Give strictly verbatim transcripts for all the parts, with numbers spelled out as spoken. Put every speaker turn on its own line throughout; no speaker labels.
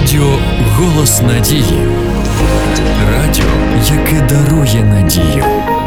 Радіо «Голос надії». Радіо, яке дарує надію.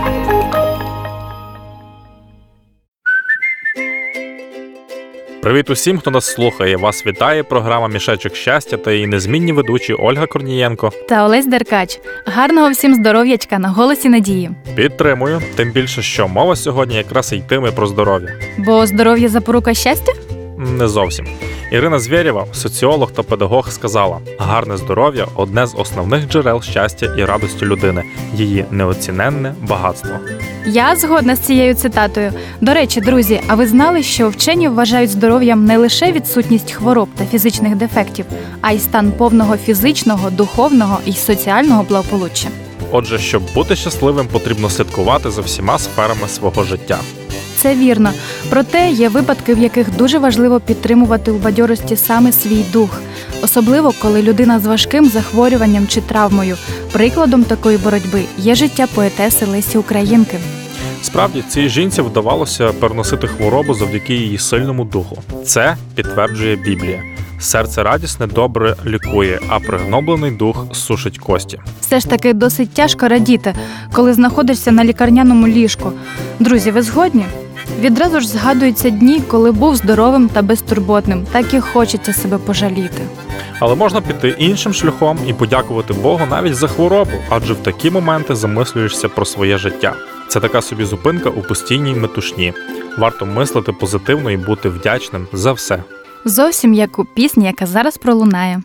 Привіт усім, хто нас слухає. Вас вітає програма «Мішечок щастя» та її незмінні ведучі Ольга Корнієнко
та Олесь Деркач. Гарного всім здоров'ячка на «Голосі надії».
Підтримую, тим більше, що мова сьогодні якраз і йтиме про здоров'я.
Бо здоров'я – запорука щастя?
Не зовсім. Ірина Звєрєва, соціолог та педагог, сказала: гарне здоров'я – одне з основних джерел щастя і радості людини, її неоціненне багатство.
Я згодна з цією цитатою. До речі, друзі, а ви знали, що вчені вважають здоров'ям не лише відсутність хвороб та фізичних дефектів, а й стан повного фізичного, духовного і соціального благополуччя?
Отже, щоб бути щасливим, потрібно слідкувати за всіма сферами свого життя.
Це вірно. Проте є випадки, в яких дуже важливо підтримувати у бадьорості саме свій дух. Особливо, коли людина з важким захворюванням чи травмою. Прикладом такої боротьби є життя поетеси Лесі Українки.
Справді, цій жінці вдавалося переносити хворобу завдяки її сильному духу. Це підтверджує Біблія. Серце радісне добре лікує, а пригноблений дух сушить кості.
Все ж таки досить тяжко радіти, коли знаходишся на лікарняному ліжку. Друзі, ви згодні? Відразу ж згадуються дні, коли був здоровим та безтурботним, так і хочеться себе пожаліти.
Але можна піти іншим шляхом і подякувати Богу навіть за хворобу, адже в такі моменти замислюєшся про своє життя. Це така собі зупинка у постійній метушні. Варто мислити позитивно і бути вдячним за все.
Зовсім як у пісні, яка зараз пролунає.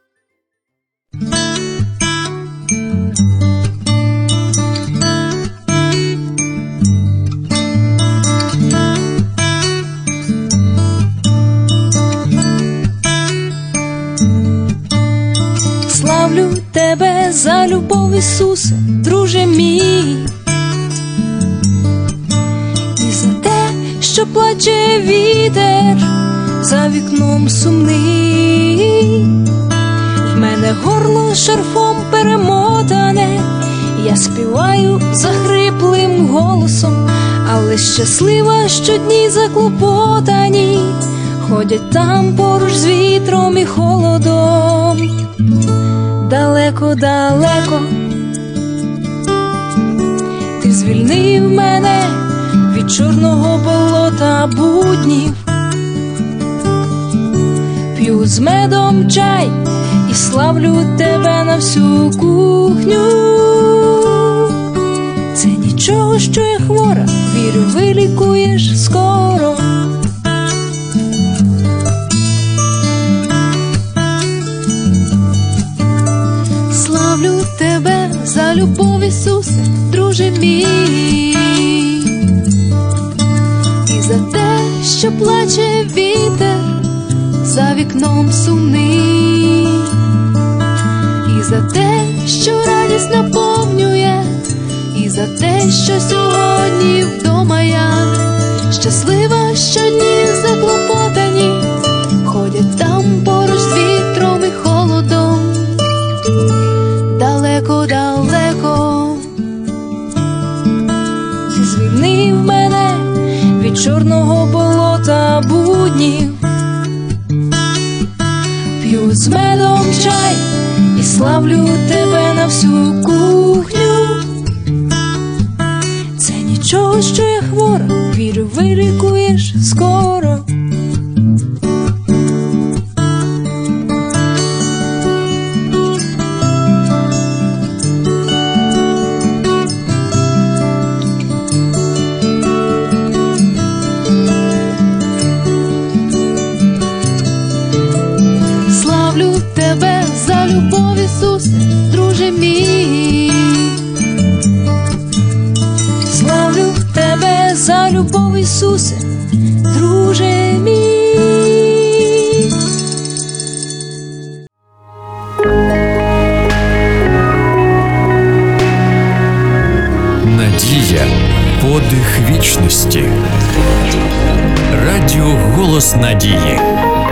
Славлю тебе за любов, Ісусе, друже мій, і за те, що плаче вітер за вікном сумний. В мене горло шарфом перемотане, я співаю захриплим голосом, але щаслива, що дні заклопотані ходять там поруч з вітром і холодом. Далеко-далеко ти звільнив мене від чорного болота буднів. П'ю з медом чай і славлю тебе на всю кухню. Це нічого, що я хвора, вірю, вилікуєш скоро. Славлю тебе за любов, Ісусе, друже мій, і за те, що плаче вітер за вікном сумний, і за те, що радість наповнює, і за те, що сьогодні вдома я щаслива, що дні заклопотані ходять там поруч з вітром і холодом. Далеко-далеко ти звільнив мене від чорного болота буднів. П'ю з медом чай і славлю тебе на всю кухню. Це нічого, що я хвора, вірю, вилікуєш скоро. Тебе за любов, Ісусе, друже мій. Славлю тебе за любов, Ісусе, друже мій.
Надія – подих вічності. Радіо «Голос надії».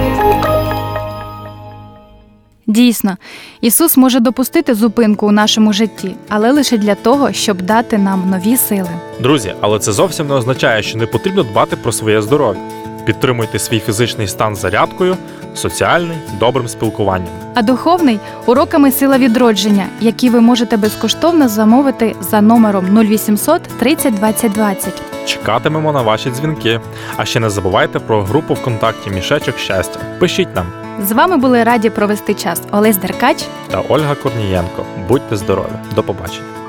Дійсно, Ісус може допустити зупинку у нашому житті, але лише для того, щоб дати нам нові сили.
Друзі, але це зовсім не означає, що не потрібно дбати про своє здоров'я. Підтримуйте свій фізичний стан зарядкою, соціальний добрим спілкуванням.
А духовний уроками сила відродження, які ви можете безкоштовно замовити за номером нуль вісімсот тридцять двадцять двадцять.
Чекатимемо на ваші дзвінки. А ще не забувайте про групу ВКонтакті «Мішечок щастя». Пишіть нам.
З вами були раді провести час Олесь Деркач
Та Ольга Корнієнко. Будьте здорові. До побачення.